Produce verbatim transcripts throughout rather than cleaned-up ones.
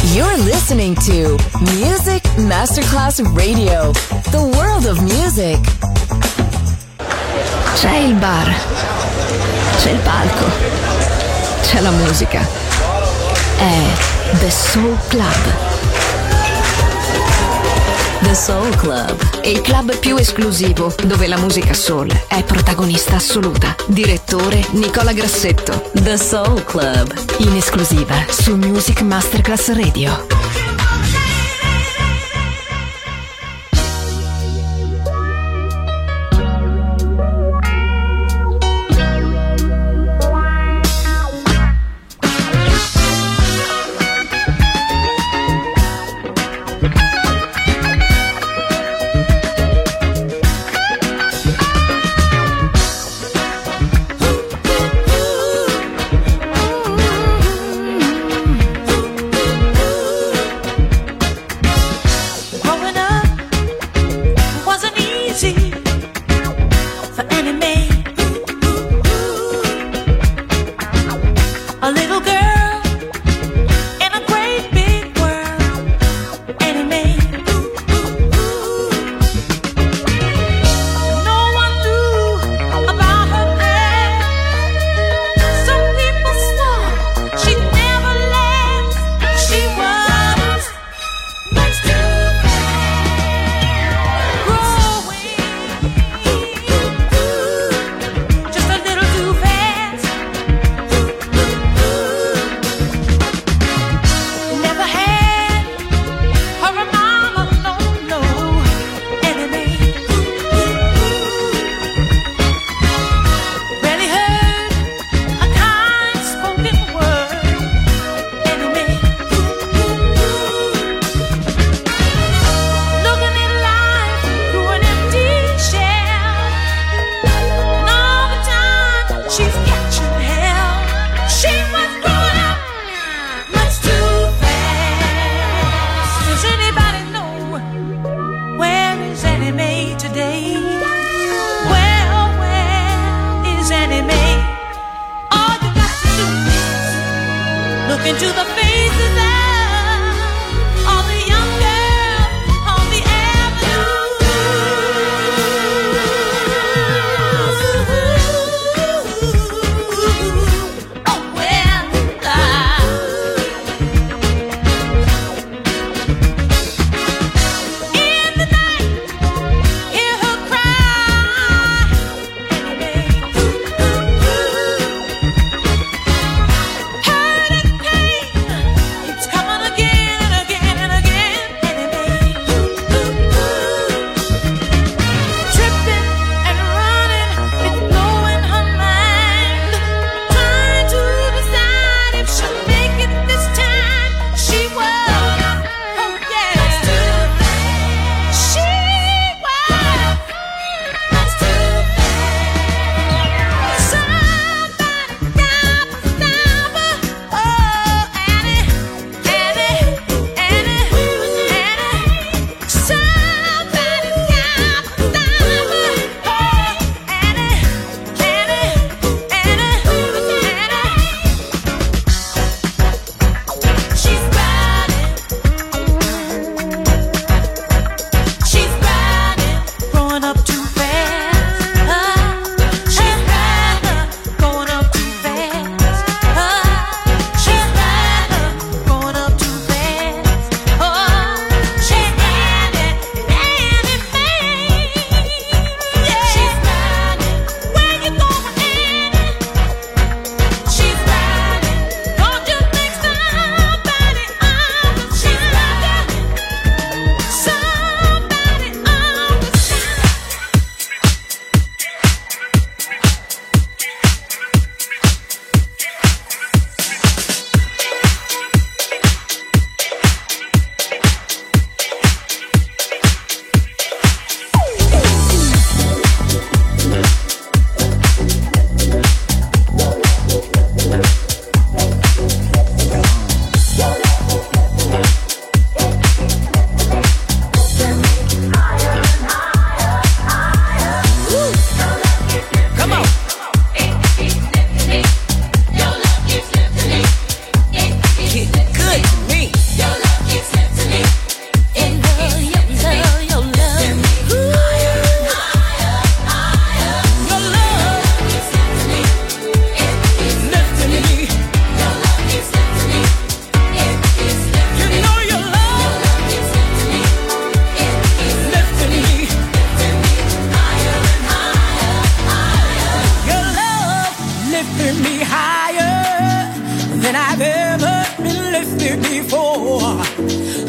You're listening to Music Masterclass Radio, the world of music. C'è il bar, c'è il palco, c'è la musica. È The Soul Club. The Soul Club, il club più esclusivo dove la musica soul è protagonista assoluta. Direttore Nicola Grassetto. The Soul Club, in esclusiva su Music Masterclass Radio. It's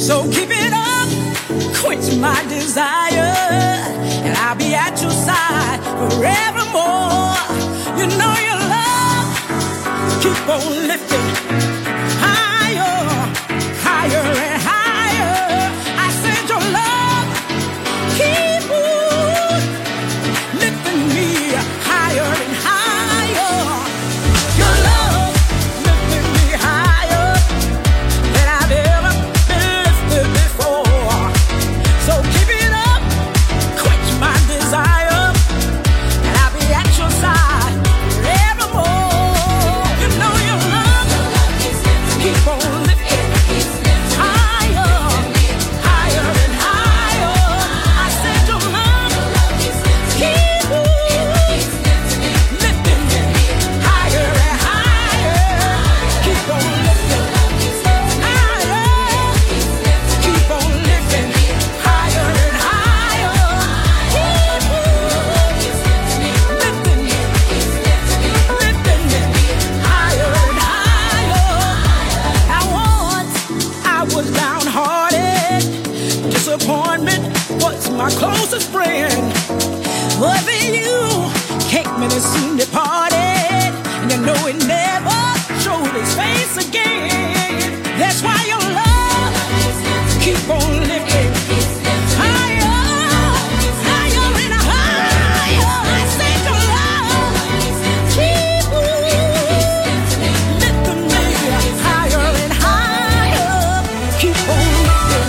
So keep it up, quench my desire, and I'll be at your side forevermore. You know your love, keep on lifting higher, higher and higher. I said your love, keep on lifting me higher and higher. Your love lifting me higher than I've ever been lifted before. So keep it up, quench my desire, and I'll be at your side forevermore. You know your love, keep on lifting higher, higher and higher. I said your love, keep on lifting me higher and higher. Keep on lifting higher, keep on lifting higher and higher. Keep on lifting me, lifting me higher and higher. Now once I was downhearted, disappointment was my closest friend. But then you came in and soon departed, and you know it never showed its face again. That's why your love keep on lifting higher, higher and higher. I said your love keep on lifting me higher and higher. Keep on lifting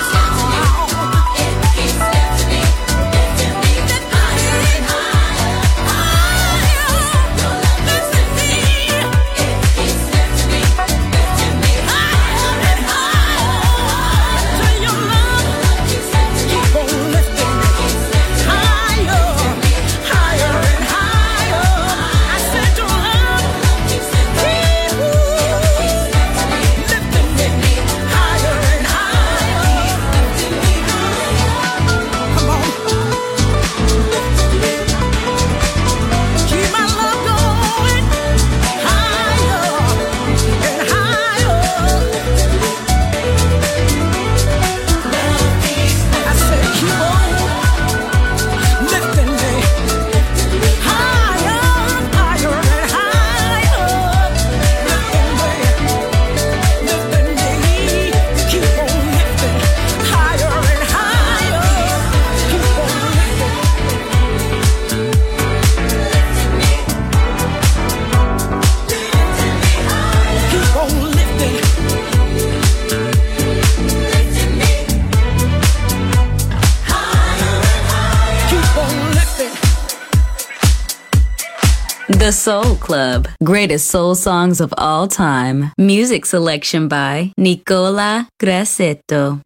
The Soul Club. Greatest soul songs of all time. Music selection by Nicola Grassetto.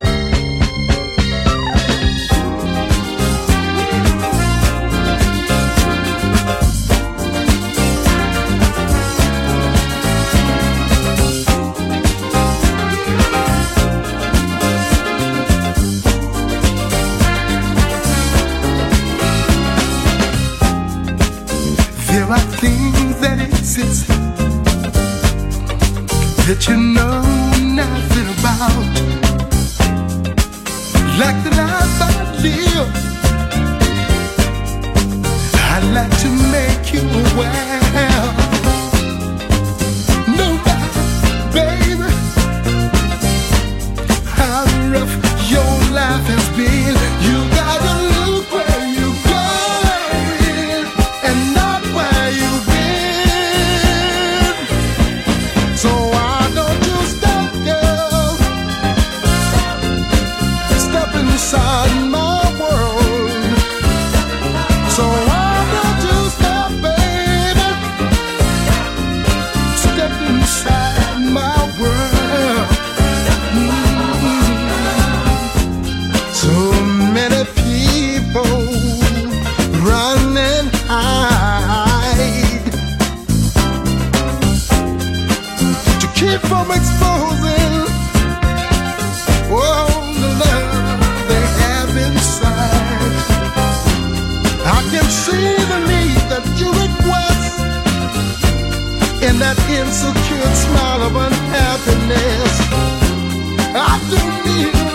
There are things that exist that you know nothing about, like the life I live. I'd like to make you aware. No doubt, baby, how rough your life has been. You gotta look where you're going and not where you've been. So why don't you stop, girl? Step inside my world. So why don't you stop, baby? Step inside my world. Mm. So many people run and hide to keep from exposing all the love they have inside. I can see the need that you request in that insecure smile of unhappiness. I do need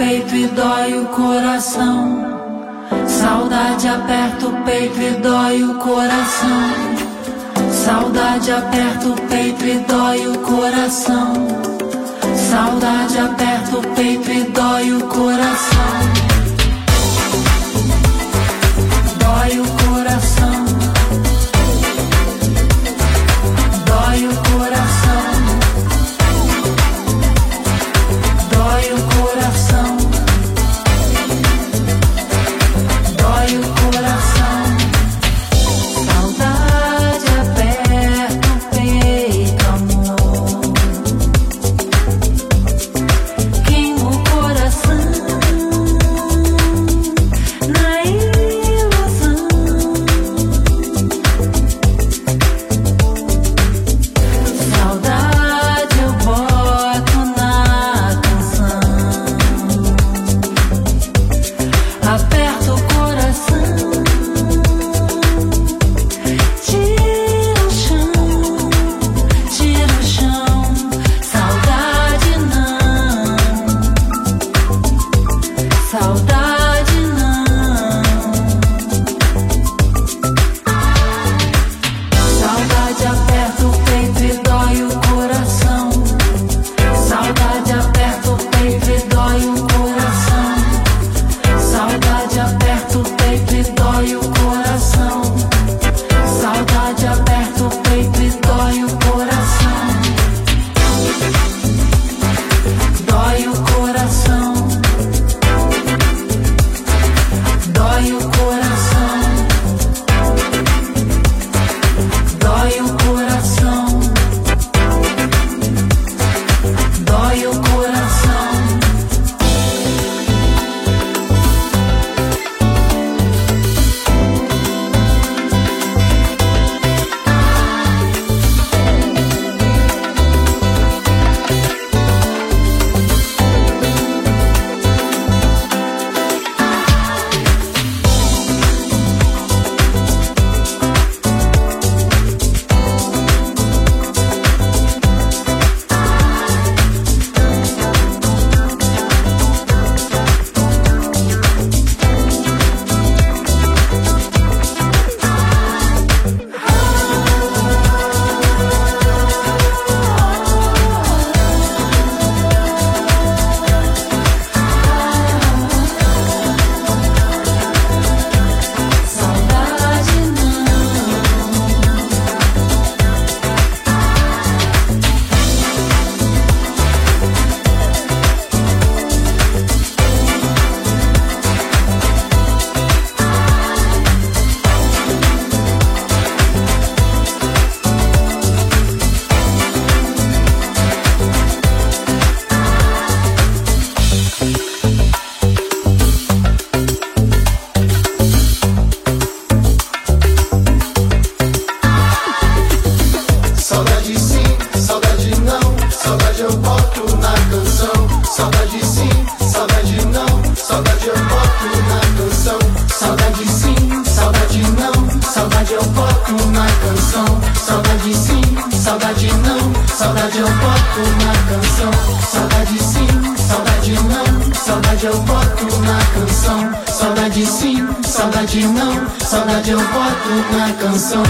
peito e dói o coração. Saudade aperta o peito e dói o coração. Saudade aperta o peito e dói o coração. Saudade aperta o peito e dói o coração. Dói o coração. Dói o coração. Dói o coração. Dói o coração. Saudade aperta o peito, amor. Queima o coração na ilusão. Saudade eu boto na canção. Aperta o coração. Tira o chão, tira o chão. Saudade não. Saudade não. Saudade aperta o peito e dói o coração. Saudade aperta o peito e dói o coração. Saudade aperta o peito e dói o coração. Saudade aperta o peito e dói o coração. Dói o coração. Dói o coração. Dói o coração. Dói o coração. Saudade sim, saudade não. Saudade eu boto na canção. Saudade sim, saudade não. Saudade eu boto na canção. Saudade sim, saudade não. Saudade eu boto na canção. Saudade sim, saudade não. Saudade eu boto na canção. Saudade sim, saudade não. Saudade eu boto na canção. Saudade sim, saudade não. Saudade eu boto na canção.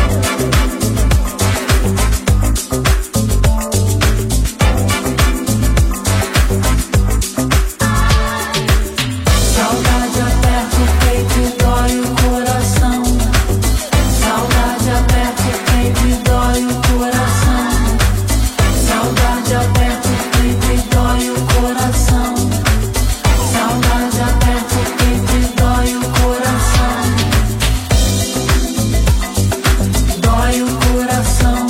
Saudade aperta o peito e dói o coração. Saudade aperta o peito e dói o coração. Saudade aperta o peito e dói o coração. Saudade aperta o peito e dói o coração. Dói o coração.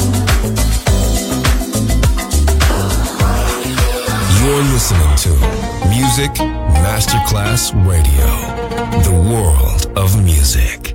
You're listening to Music Masterclass Radio, the world of music.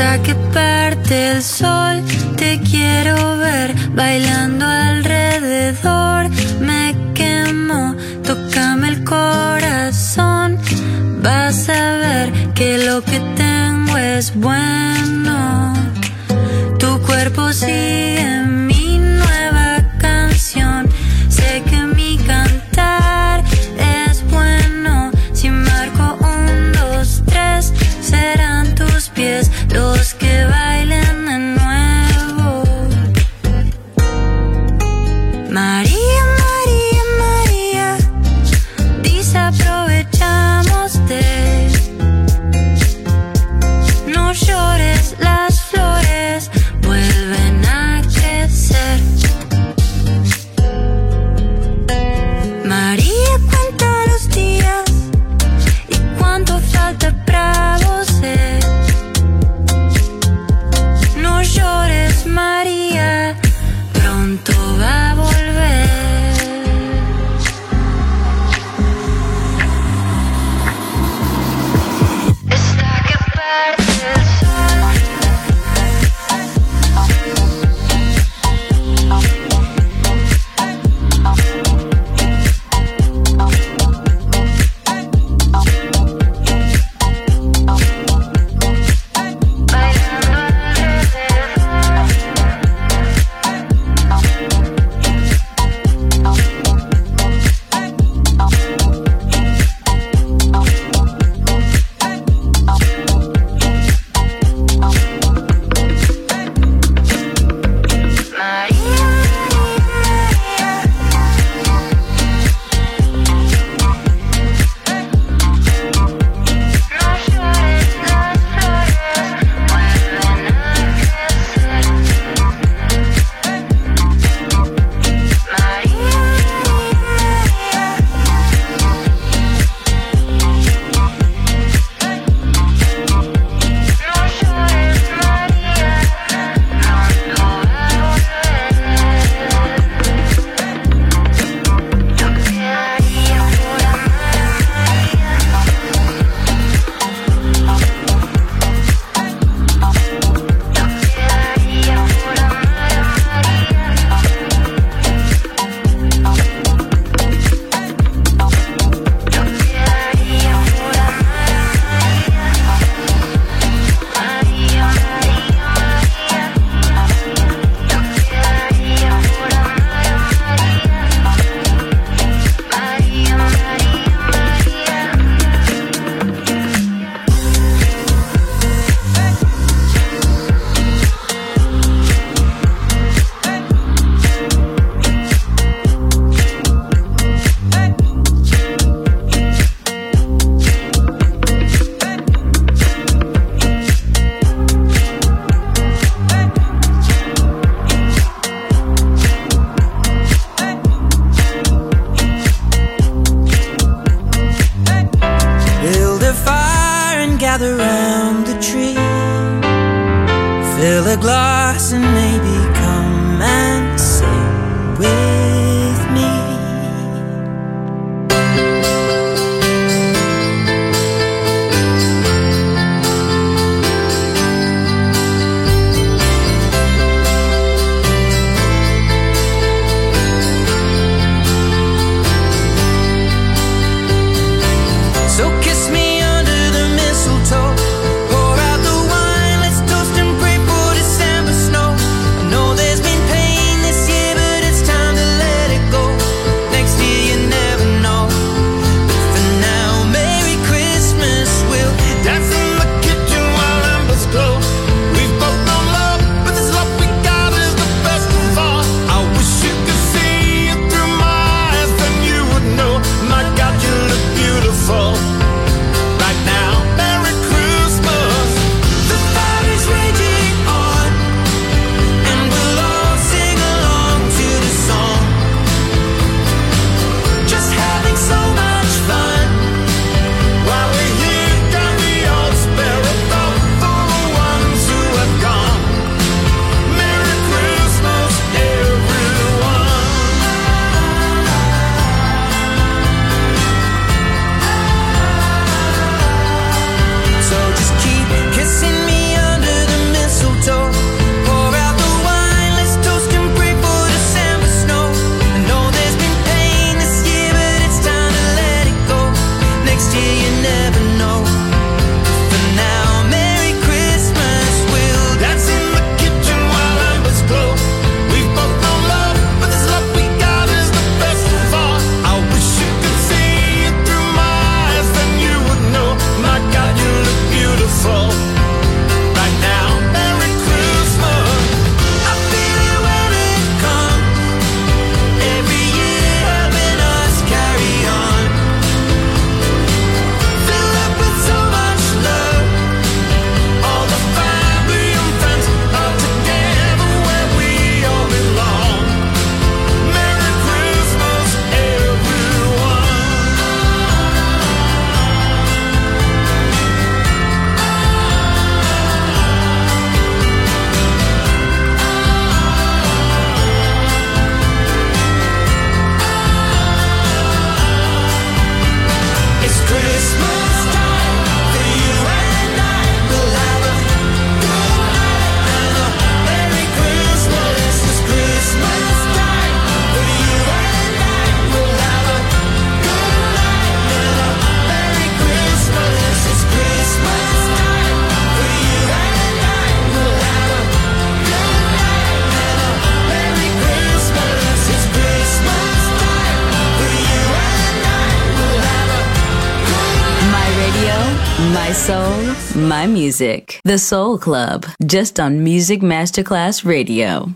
Hasta que parte el sol, te quiero ver bailando alrededor. Me quemo, tócame el corazón. Vas a ver que lo que tengo es bueno. Tu cuerpo sigue mi nueva canción. Sé que mi cantar es bueno. Si marco un, dos, tres, serán tus pies los que bailen de nuevo. María, María, María, desaprovechamos-te. No llores, las flores vuelven a crecer. María, cuenta los días y cuánto falta para vos. No llores, María, pronto va a volver. Está que parte el sol. Bailando gather round the tree, fill a glass and maybe come and sing with me. So kiss me under the mistletoe, pour out the wine, let's toast and pray for December snow. I know my music. The Soul Club, just on Music Masterclass Radio.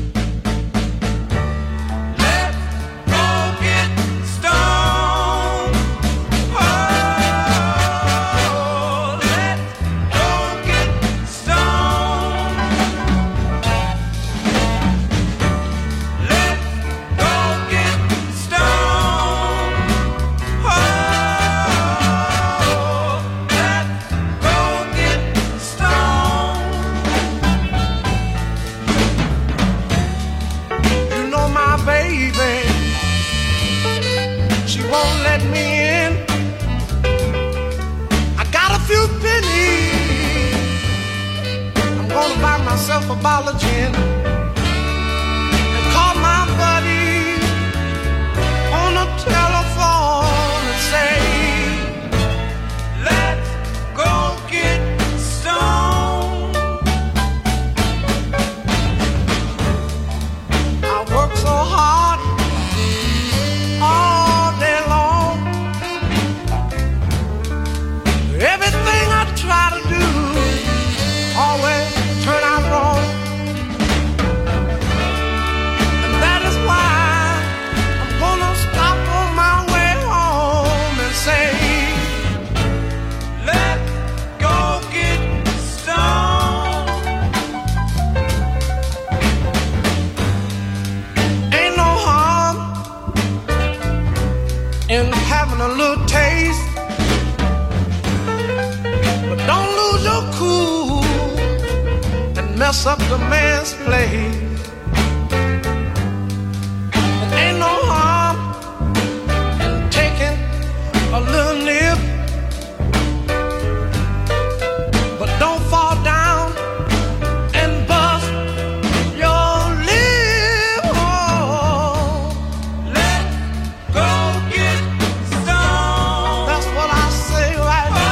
A bottle of gin and call my buddy on the telephone and say, let's go get stoned. I work so hard all day long. Everything I try to do always turn out wrong. And that is why I'm gonna stop on my way home and say, let's go get stoned. Ain't no harm in having a little taste, but don't lose your cool, mess up the man's play. And ain't no harm in taking a little nip, but don't fall down and bust your lip. Oh, let's go get stoned. That's what I say right now.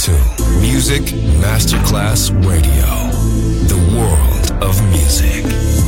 to Music Masterclass Radio, the world of music.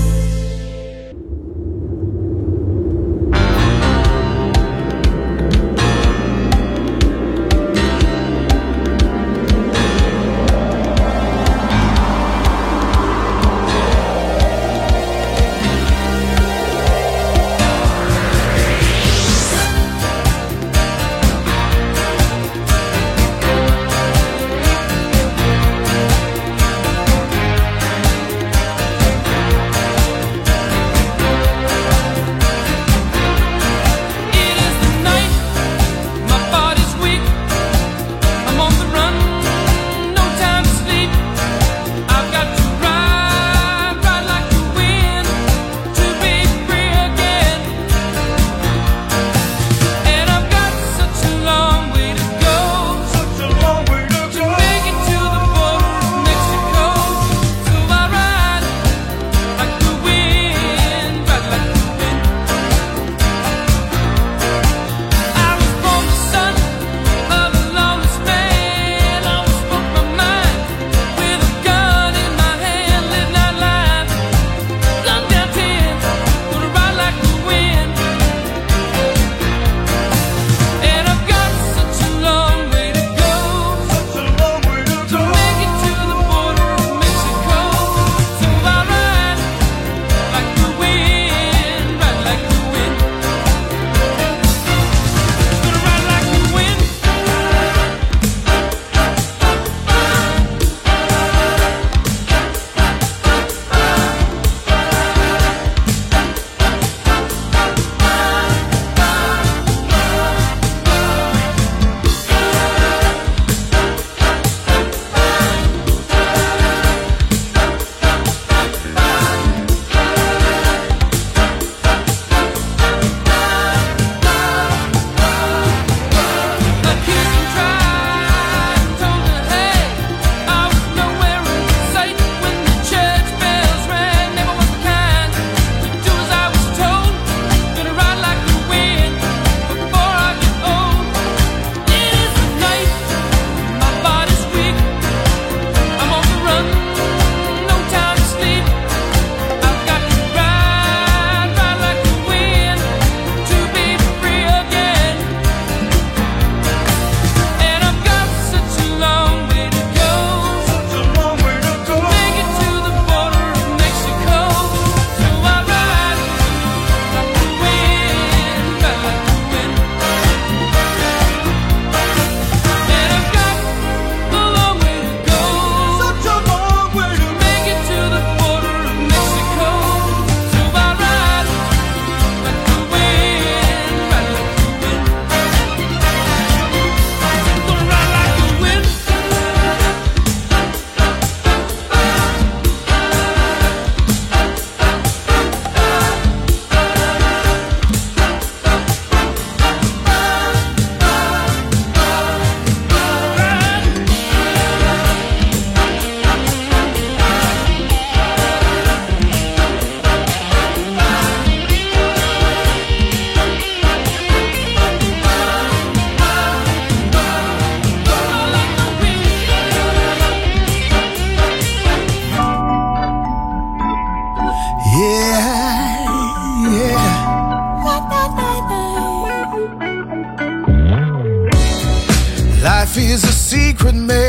Life is a secret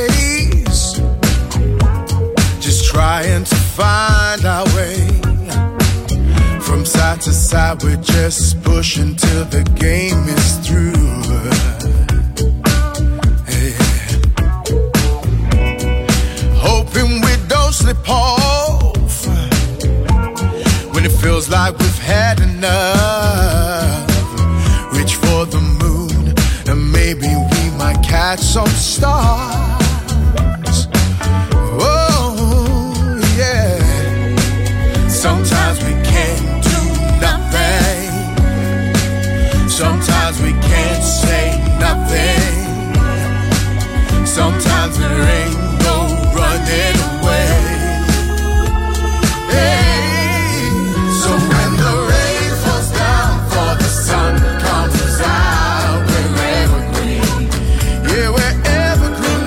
maze, just trying to find our way. From side to side we're just pushing till the game is through. Yeah. Hoping we don't slip off when it feels like we've had enough. Reach for the moon and maybe we might catch some stars. Oh yeah. Sometimes we can't do nothing. Sometimes we can't say nothing. Sometimes there ain't no running away. Hey, so when the rain falls down for the sun comes out, we're evergreen. Yeah, we're evergreen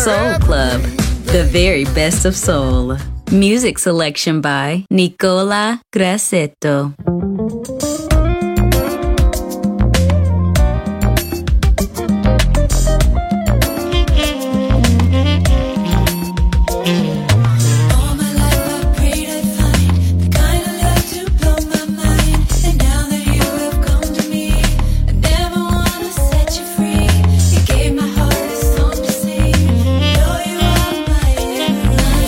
Soul Club, the very best of soul. Music selection by Nicola Grassetto.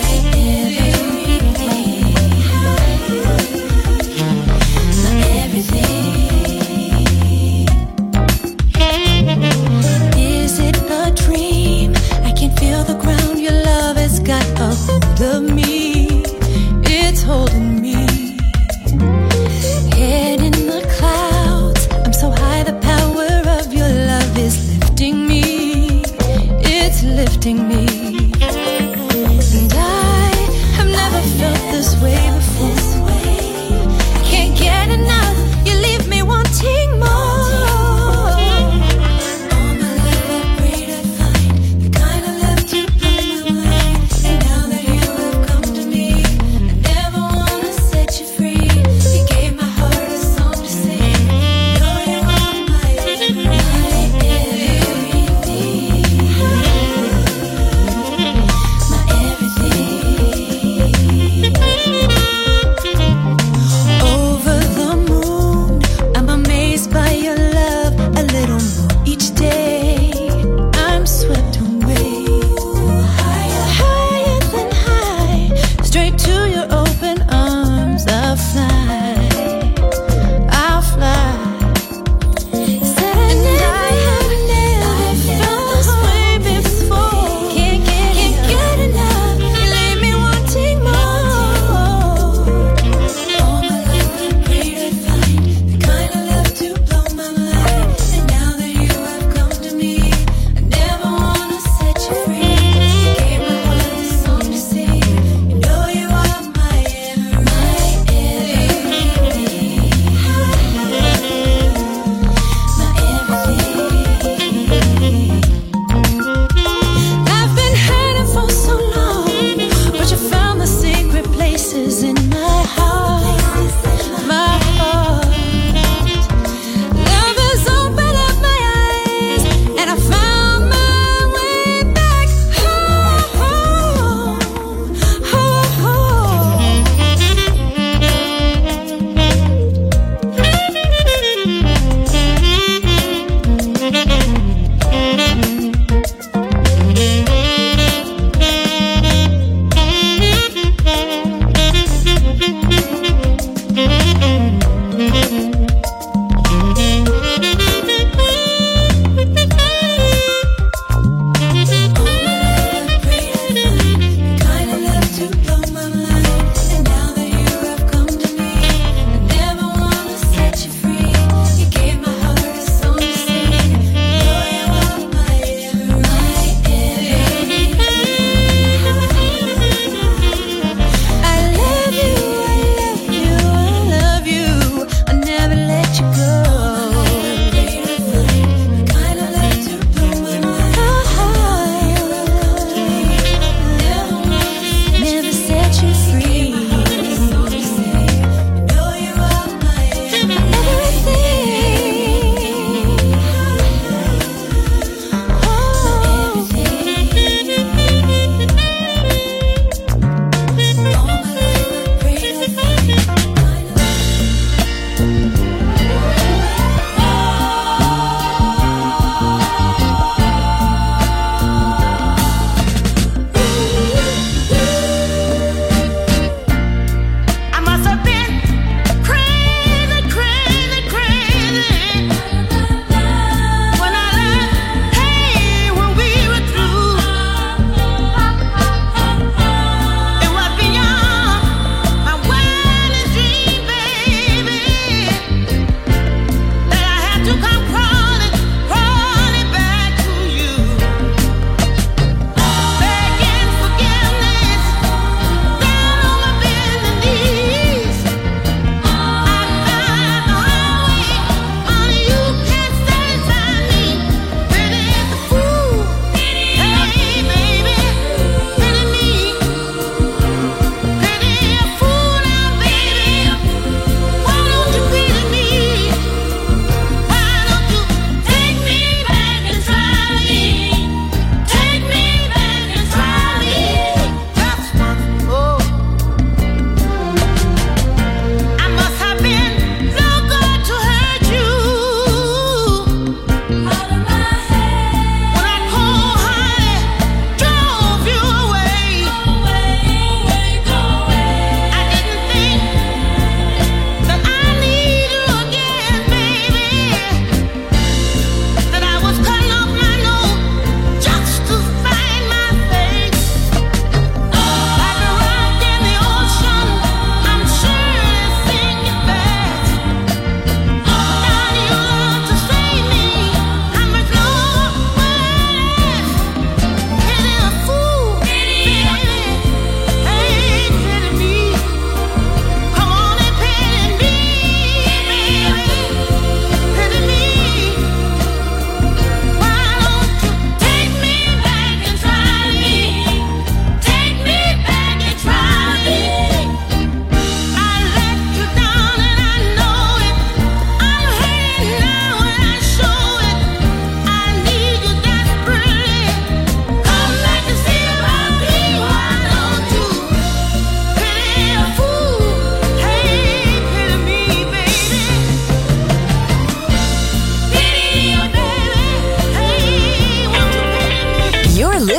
Everything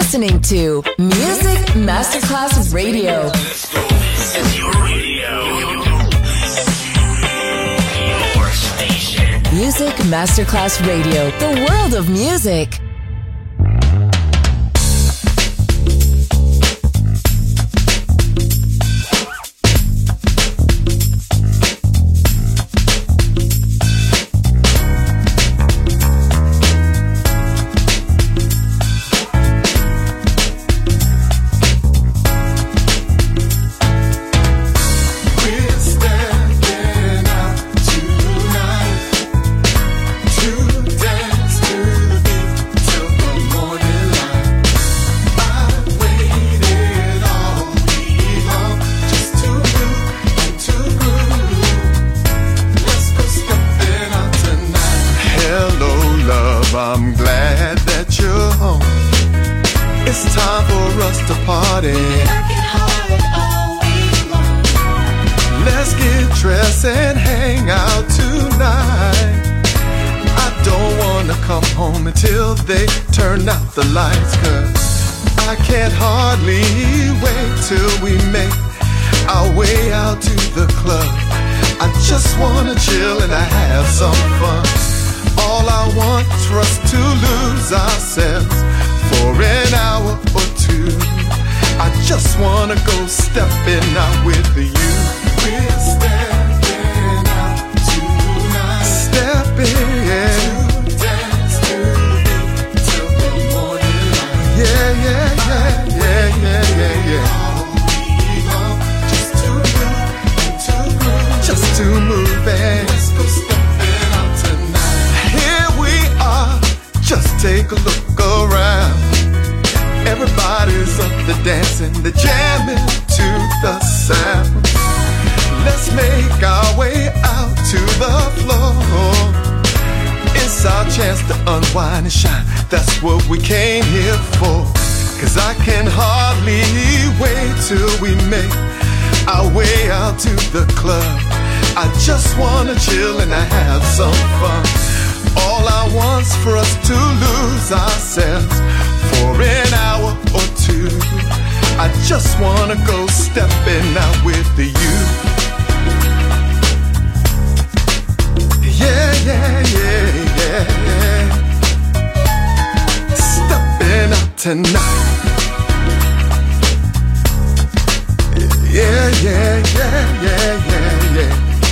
listening to Music Masterclass Radio. Your station. Music Masterclass Radio, the world of music. The lights, cause I can't hardly wait till we make our way out to the club. I just wanna chill and I have some fun. All I want is for us to lose ourselves for an hour or two. I just wanna go stepping out with you. We're stepping out tonight. Stepping, yeah. Yeah, yeah, yeah, yeah, yeah, yeah, yeah. Just to move, to move, just to move, and let's go stepping out tonight. Here we are, just take a look around. Everybody's up to dancing, they're jamming to the sound. Let's make our way out to the floor. It's our chance to unwind and shine. That's what we came here for. Cause I can hardly wait till we make our way out to the club. I just wanna chill and I have some fun. All I want's for us to lose ourselves for an hour or two. I just wanna go stepping out with you. Yeah, yeah, yeah, yeah, yeah. Stepping out tonight. Yeah, yeah, yeah, yeah, yeah, yeah.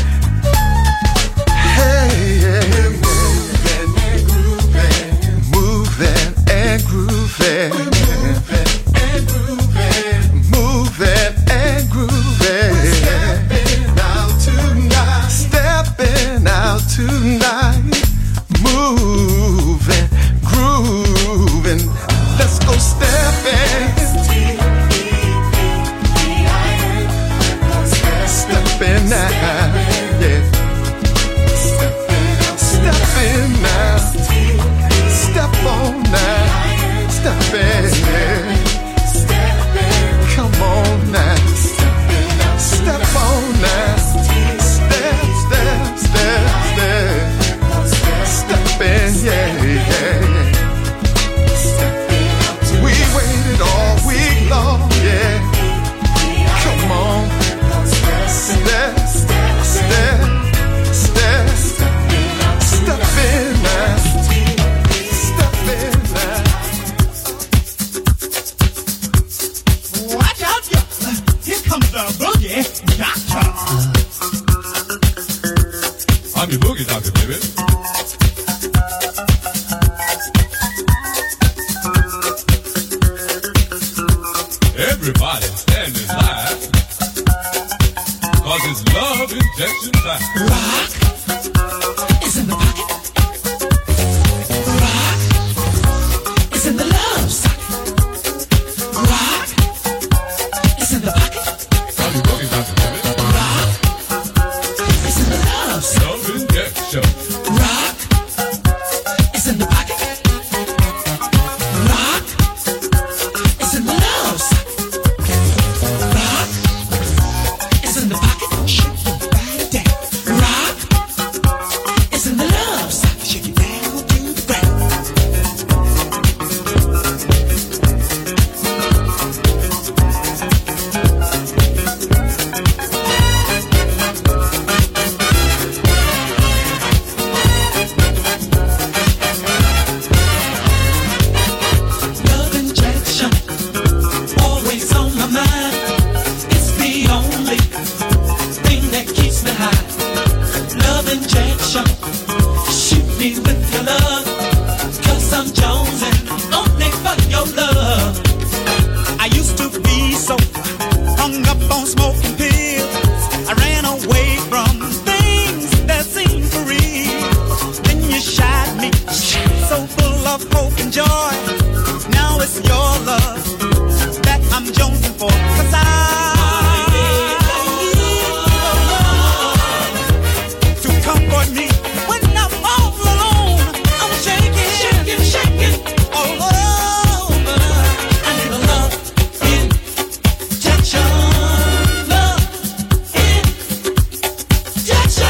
Hey, yeah, moving and grooving, moving and grooving, moving and grooving, moving and grooving. Stepping out tonight, stepping out tonight, moving, grooving. Let's go stepping. Stepping now, yeah. Stepping now. Step on now. Stepping, yeah. Come on now. Step on now. Step, step, step, step. Stepping, yeah, yeah. We waited all week long, yeah. Come on. Step, step, step, step, step in now, step in now. Watch out, y'all! Here comes the boogie doctor. I'm the boogie doctor, baby. Everybody standing live. Cause it's love injection time. Rock is in the pocket. Rock is in the love socket. Rock is in the pocket. I'm the boogie doctor, baby. Rock is in the love socket. Love injection. Rock is in the pocket. Rock is in the love socket. Rock is in the pocket. Shake your body down. Rock affection. Shoot me with your love, 'cause I'm jonesing only for your love. I used to be so hung up on smoking pills. I ran away from things that seemed for real. Then you shot me, so full of hope and joy. Now it's your love that I'm jonesing for, 'cause I comfort me when I'm all alone. I'm shaking, shaking, shaking all over. I need a love injection, love injection.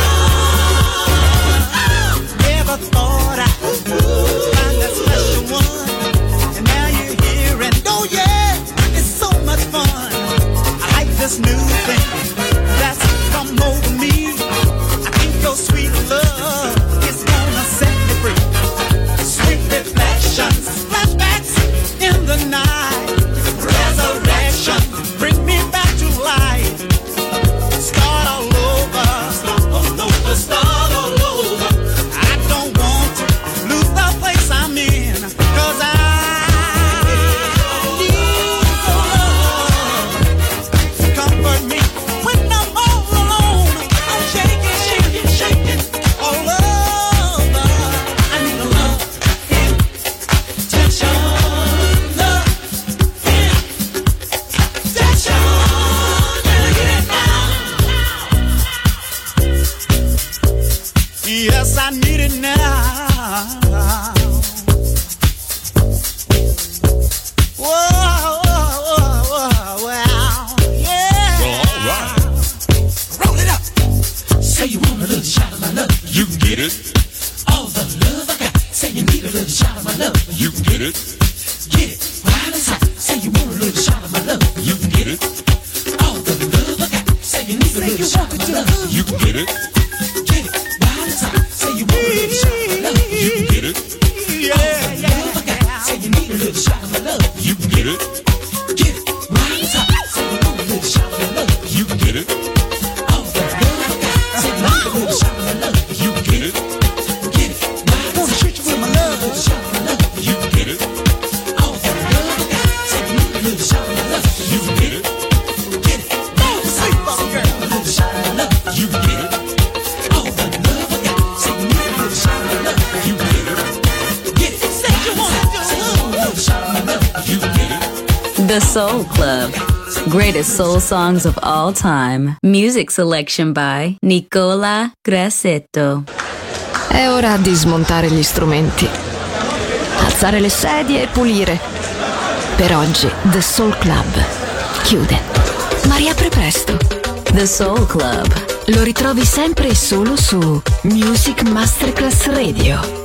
Never thought I'd find that special one, and now you're here, and oh yeah, it's so much fun. I like this new thing that's come over me. Your sweet love is gonna set me free. Sweet reflections, flashbacks in the night. Resurrection, bring me back to life. Start all over, start all over, start all over. I don't want to lose the place I'm in, 'cause I need your love to comfort me when I'm all alone. I'm shaking, shaking, shaking all over. I need a love injection, love injection. Gonna get it now. Yes, I need it now. Whoa, whoa, whoa, whoa, wow, yeah. Well, all right. Roll it up. Say you want a little shot of my love. You can get it. All the love I got. Say you need a little shot of my love. You can get it. Get it while it's hot. Say you want a little shot of my love. You can get it. All the love I got. Say you need a little shot of my love. You can get it. Get it while it's hot. Say you want a little shot of my love. You can get it. All the love I got. Say you need a little shot of my love. You can get it. Get it while it's hot. Say you want a little shot of my love. You can get it. All the love I got. Say you need a little shot of my love. You can get it. Get it while it's hot. Treat you with my love. Shot of my love. You can get it. All the love I got. Say you need a little shot of my love. You can get it. Get it. Now sweet fucking girl. A little shot of my love. You can get it. All the love I got. Say you need a little shot of my love. You can get it. Get it. Say you want a little shot of my love. You can get it. The Soul Club. Greatest soul songs of all time. Music selection by Nicola Grassetto. È ora di smontare gli strumenti, alzare le sedie e pulire. Per oggi The Soul Club chiude, ma riapre presto. The Soul Club. Lo ritrovi sempre e solo su Music Masterclass Radio.